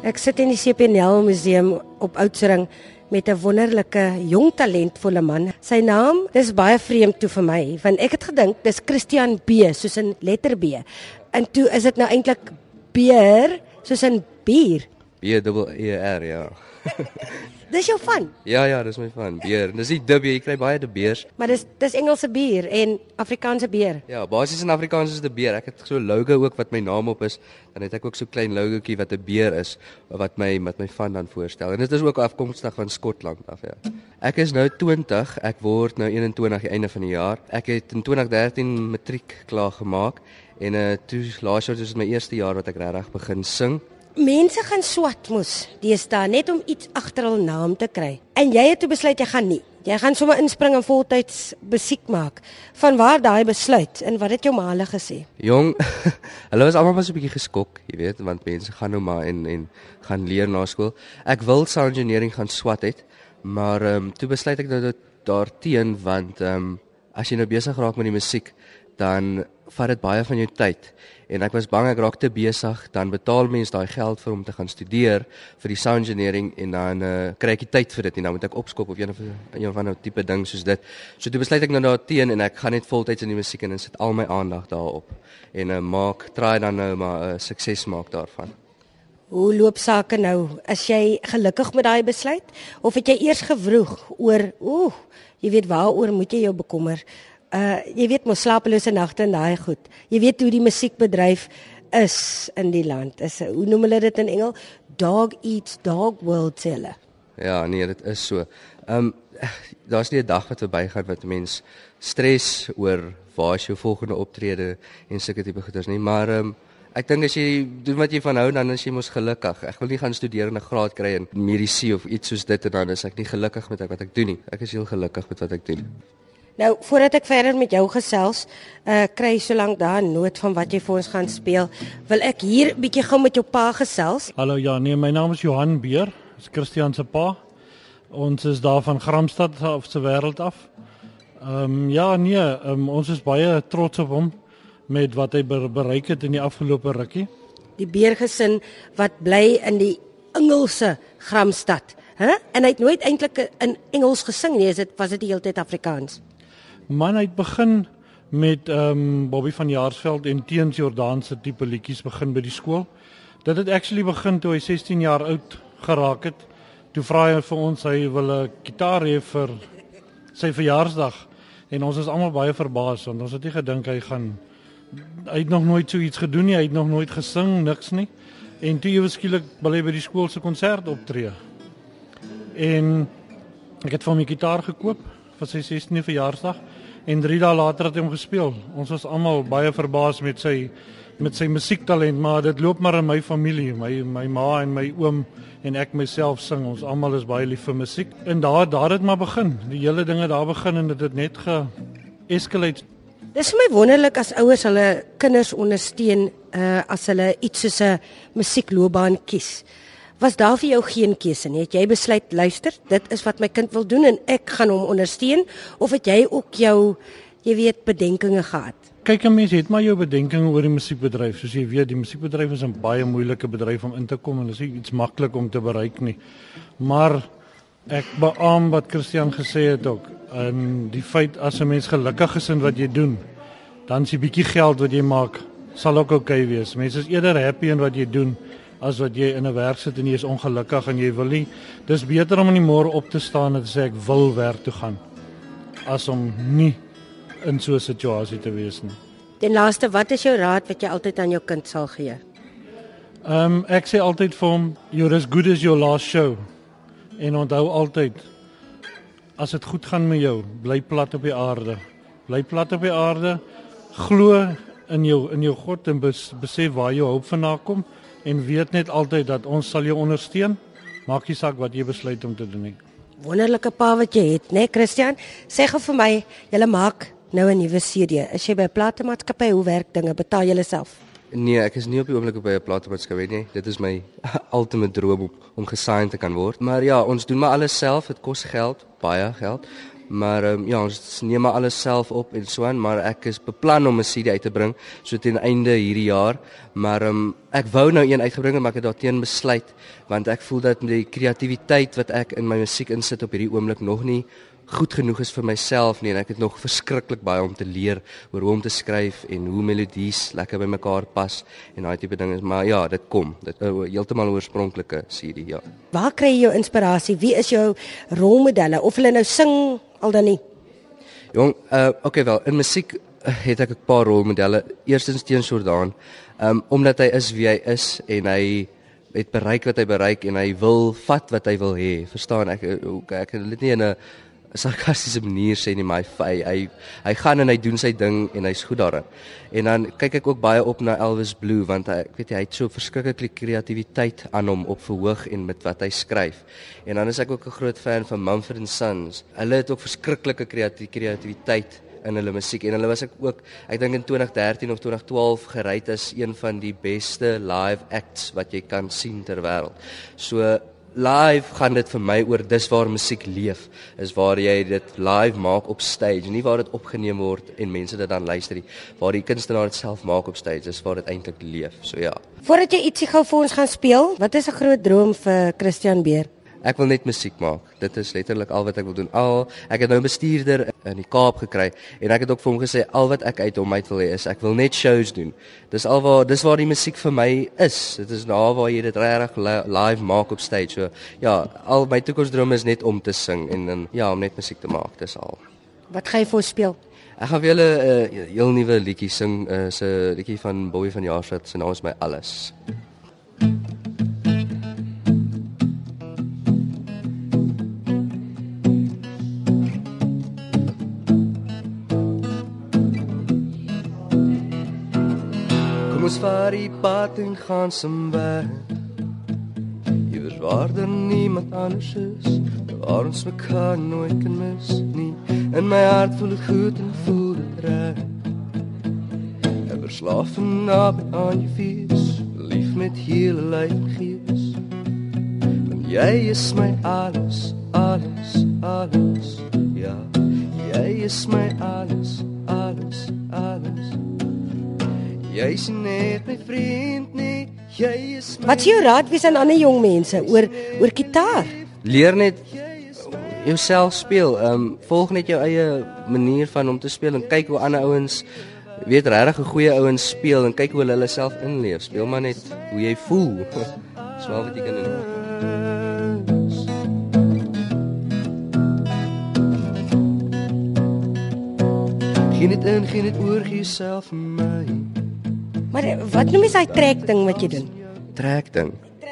Ek sit in die CPNL Museum op Oudtshoorn met 'n wonderlike jong talentvolle man. Sy naam is baie vreemd toe vir my, want ek het gedink dis Christian B, soos in letter B. En toe is dit nou eintlik beer, soos in bier. B-E-E-R, ja. Dis jou van, Ja, dis my van, beer. Dis nie dub, jy kry baie de beers. maar dis Engelse bier en Afrikaanse beer. Ja, basies in Afrikaans is de beer. Ek het so 'n logo ook wat my naam op is. Dan het ek ook so 'n klein logootjie wat 'n beer is wat my van dan voorstel. En dit is ook afkomstig van Skotland af, ja. Ek is nou 20, ek word nou 21 die einde van die jaar. Ek het in 2013 matriek klaar gemaak en toe laas jaar was dit my eerste jaar wat ek regtig begin sing. Mense gaan swat mos deesdae net om iets agter hul naam te kry. En jy het toe besluit jy gaan nie. Jy gaan sommer inspring en voltyds musiek maak. Vanwaar daai besluit en wat het jou ma hulle gesê? Jong, hulle was almal maar so 'n bietjie geskok, jy weet, want mense gaan nou maar en gaan leer na skool. Ek wil sound engineering gaan swat het, maar toe besluit ek nou daarteen want as jy nou besig raak met die musiek, dan vat dit baie van jou tyd. En ek was bang ek raak te besig, dan betaal mens daai geld vir om te gaan studeer vir die sound engineering en dan kry ek nie tyd vir dit nie. Dan moet ek opskop of een of ander tipe ding soos dit. So toe besluit ek nou daarteen en ek gaan net voltyds in die musiek en sit al my aandag daarop en try dan nou maar 'n sukses maak daarvan. Hoe loop sake nou? Is jy gelukkig met daai besluit of het jy eers gewroeg oor, jy weet waaroor moet jy jou bekommer? Jy weet mos slapelose nagte en daai goed. Jy weet hoe die musiekbedryf is in die land. Hoe noem hulle dit in Engels? Dog eats dog world sê hulle. Ja, nee, dit is so. Daar's nie 'n dag wat verbygaan wat 'n mens stres oor waar is jou volgende optrede en sulke tipe goeders nie, maar ek dink as jy doen wat jy van hou, dan is jy mos gelukkig. Ek wil nie gaan studeer en 'n graad kry in medisyne of iets soos dit en dan is ek nie gelukkig met wat ek doen nie. Ek is heel gelukkig met wat ek doen. Nou, voordat ek verder met jou gesels, kry solank daar 'n noot van wat jy vir ons gaan speel, wil ek hier bietjie gou met jou pa gesels. Hallo, ja, nee, my naam is Johan Beer, is Christian se pa. Ons is daar van Gramstad af se wêreld af. Ons is baie trots op hom met wat hy bereik het in die afgelope rukkie. Die Beergesin wat bly in die Engelse Gramstad, En hy het nooit eintlik in Engels gesing nie, was dit die hele tyd Afrikaans. Man, hy het begin met Bobby van Jaarsveld en Teens Jordaanse tipe liedjies begin by die skool. Dit het actually begin toe hy 16 jaar oud geraak het. Toe vra hy vir ons hy wil 'n gitaar hê vir sy verjaarsdag en ons is almal baie verbaas want ons het nie gedink hy het nog nooit so iets gedoen nie, hy het nog nooit gesing, niks nie. En toe ewe skielik wil hy by die skool se konsert optree. En ek het vir hom 'n gitaar gekoop vir sy 16de verjaarsdag en 3 dae later het hy hom gespeel. Ons was almal baie verbaas met sy musiektalent, maar dit loop maar in my familie. My ma en my oom en ek myself sing. Ons almal is baie lief vir musiek. En daar het maar begin. Die hele dinge daar begin en dit het net ge-escalate. Dis vir my wonderlik as ouers hulle kinders ondersteun as hulle iets soos 'n musiekloopbaan kies. Was daar vir jou geen keuse nie? Het jy besluit, luister, dit is wat my kind wil doen en ek gaan hom ondersteun, of het jy ook jou, bedenkinge gehad? Kyk, 'n mens het maar jou bedenkinge oor die musiekbedryf. Soos jy weet, die musiekbedryf is 'n baie moeilike bedryf om in te kom en dit is nie iets maklik om te bereik nie. Maar ek beamoen wat Christian gesê het ook. En die feit as 'n mens gelukkig is in wat jy doen, dan is die bietjie geld wat jy maak sal ook okay wees. Mense is eerder happy in wat jy doen as wat jy in 'n werk sit en jy is ongelukkig en jy wil nie. Dis beter om in die môre op te staan en te sê ek wil werk toe gaan as om nie in so 'n situasie te wees nie. Ten laaste, wat is jou raad wat jy altyd aan jou kind sal gee? Ek sê altyd vir hom, you're as good as your last show. En onthou altyd, as dit goed gaan met jou, bly plat op die aarde. Bly plat op die aarde, glo in jou God en besef waar jou hoop vandaan kom en weet net altyd dat ons sal jou ondersteun. Maak nie saak wat jy besluit om te doen nie. Wonderlike pa wat jy het, né, Christian? Sê gou vir my, julle maak nou 'n nuwe CD. Is jy by 'n platemaatskappy? Hoe werk dinge? Betaal jy self? Nee, ek is nie op die oomblik by 'n platemaatskappy nie. Dit is my ultimate droom om gesigned te kan word. Maar ja, ons doen maar alles self. Dit kos geld, baie geld. Maar ja, ons neem maar alles self op en so aan, maar ek is beplan om 'n CD uit te bring so teen einde hierdie jaar. Maar ek wou nou een uitgebring het, maar ek het daarteen besluit want ek voel dat die kreatiwiteit wat ek in my musiek insit op hierdie oomblik nog nie goed genoeg is vir myself nie en ek het nog verskriklik baie om te leer oor hoe om te skryf en hoe melodies lekker by mekaar pas en daai tipe dinge, maar ja, dit kom. Dit heeltemal 'n oorspronklike CD, ja. Waar kry jy jou inspirasie? Wie is jou rolmodelle of hulle nou sing al dan nie? Jong, okay wel, in musiek het ek 'n paar rolmodelle. Eerstens Teun Jordaan, omdat hy is wie hy is en hy het bereik wat hy bereik en hy wil vat wat hy wil hê. Verstaan ek wil dit nie in 'n sarkastiese manier sê nie, maar hy gaan en hy doen sy ding en hy's goed daarin. En dan kyk ek ook baie op na Elvis Blue want hy het so verskriklike kreatiwiteit aan hom op verhoog en met wat hy skryf. En dan is ek ook 'n groot fan van Mumford & Sons. Hulle het ook verskriklike kreatiwiteit in hulle musiek en hulle was ek dink in 2013 of 2012 gerait as een van die beste live acts wat jy kan sien ter wêreld. So live gaan dit vir my oor dis waar musiek leef, is waar jy dit live maak op stage, nie waar dit opgeneem word en mense dit dan luister nie, waar die kunstenaar dit self maak op stage, dis waar dit eintlik leef, so ja. Voordat jy ietsie gou vir ons gaan speel, wat is 'n groot droom vir Christian Beer? Ek wil net musiek maak. Dit is letterlik al wat ek wil doen. Ek het nou 'n bestuurder in die Kaap gekry en ek het ook vir hom gesê al wat ek uit hom uit wil hê is ek wil net shows doen. Dis waar die musiek vir my is. Dit is daar waar jy dit regtig live maak op stage. So ja, al my toekomsdroom is net om te sing en ja, om net musiek te maak. Dis al. Wat gaan jy vir ons speel? Ek gaan vir julle 'n heel nuwe liedjie sing, 'n liedjie van Bobby van Jaarsveld. Sy naam is My Alles. Ons vaar die pad en gaan somewhere iewers waar daar niemand anders is, waar ons mekaar nooit kan mis nie. In my hart voel het goed en voel het reg, en verslaaf en naby aan jou fees, lief met hele lyf en gees. Want jy is my alles, alles, alles, ja. Jy is my alles, alles, alles. Jy is net my vriend nie, jy is my... Wat is jou raad wees aan ander jong mense oor gitaar? Leer net jouself speel. Volg net jou eie manier van om te speel en kyk hoe ander ouens, weet regtig 'n goeie ouens speel en kyk hoe hulle self inleef. Speel maar net hoe jy voel. Dis wel wat jy kan doen. Geen dit oor jouself en my. Maar wat noem jy daai trek ding wat jy doen? Trek ding.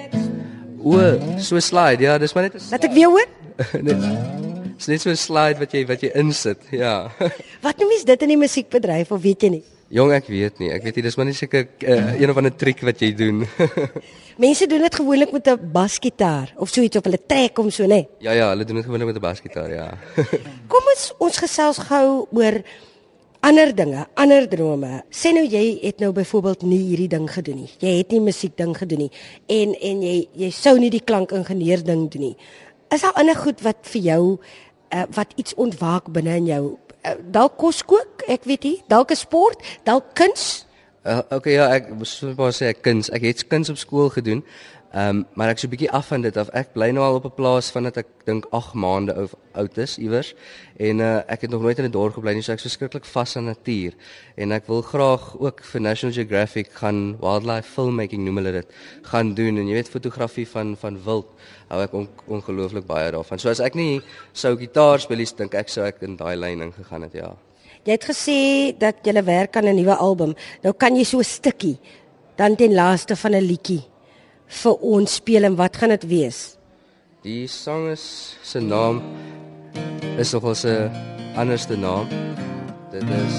So slide, ja, dis maar net 'n... Laat ek weer hoor? Dis net so 'n slide wat jy insit, ja. Wat noem jy dit in die musiekbedryf of weet jy nie? Jong, ek weet nie, dis maar net seker een of ander triek wat jy doen. Mense doen dit gewoonlik met 'n basgitaar of so iets of hulle trek hom so, né? Ja, hulle doen dit gewoonlik met 'n basgitaar, ja. Kom ons gesels gou oor ander dinge, ander drome. Sê nou jy het nou byvoorbeeld nie hierdie ding gedoen nie. Jy het nie musiek ding gedoen nie en jy sou nie die klankingenieur ding doen nie. Is daar ander goed wat vir jou wat iets ontwaak binne in jou? Dalk kos kook, ek weet nie, dalk 'n sport, dalk kuns? Okay, ja, ek moet sê kuns. Ek het kuns op skool gedoen. Maar ek so 'n bietjie af van dit af. Ek bly nou al op 'n plaas van dat ek dink 8 maande oud is iewers en ek het nog nooit in 'n dorp gebly nie, so ek is verskriklik vas aan natuur en ek wil graag ook vir National Geographic gaan wildlife filmmaking noem hulle dit gaan doen en jy weet fotografie van wild hou ek ongelooflik baie daarvan. So as ek nie sou gitaar speel, dink ek sou ek in daai lyn ingegaan het, ja. Jy het gesê dat jy werk aan 'n nuwe album. Nou kan jy so 'n stukkie dan ten laaste van 'n liedjie vir ons speel en wat gaan dit wees? Die sang se naam is nogal 'n anderste naam. Dit is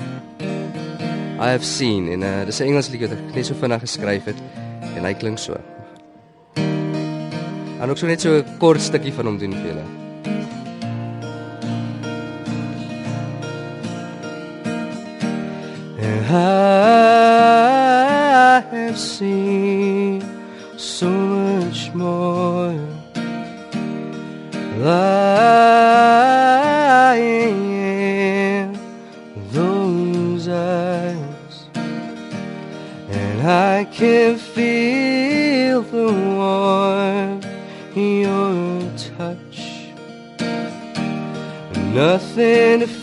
I Have Seen en dis 'n Engelse liedjie wat ek net so vinnig geskryf het en hy klink so. En ook so net so 'n kort stukkie van hom doen vir julle. I have seen so much more. I those eyes, and I can feel the warmth in your touch. Nothing to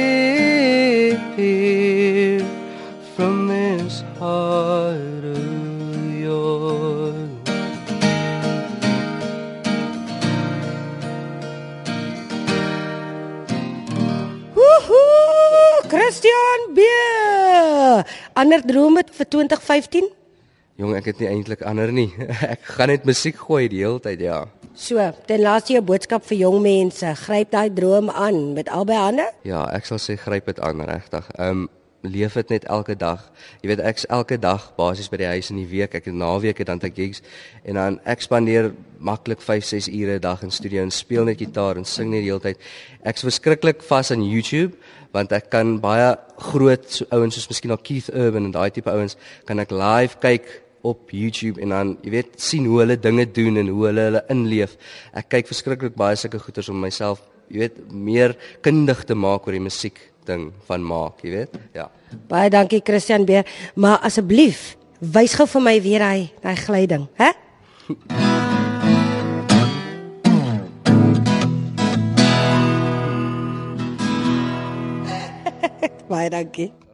fear from this heart of yours. Woehoe, Christian Beer. Ander drome vir 2015? Jong, ek het nie eintlik ander nie. Ek gaan net musiek gooi die hele tyd, ja. So, ten laaste jou boodskap vir jong mense, gryp daai droom aan met albei hande? Ja, ek sal sê gryp dit aan regtig. Leef dit net elke dag. Jy weet ek's elke dag basies by die huis in die week. Ek het naweke dan te gigs en dan ek spandeer maklik 5-6 ure 'n dag in studio en speel net gitaar en sing net die hele tyd. Ek's verskriklik vas aan YouTube want ek kan baie groot ouens soos miskien al Keith Urban en daai tipe ouens kan ek live kyk op YouTube en dan, jy weet, sien hoe hulle dinge doen en hoe hulle inleef. Ek kyk verskriklik baie sulke goeters om myself, jy weet, meer kundig te maak oor die musiek ding van maak, jy weet? Ja. Baie dankie Christian Beer, maar asseblief, wys gou vir my weer daai glyding, hè? Baie dankie.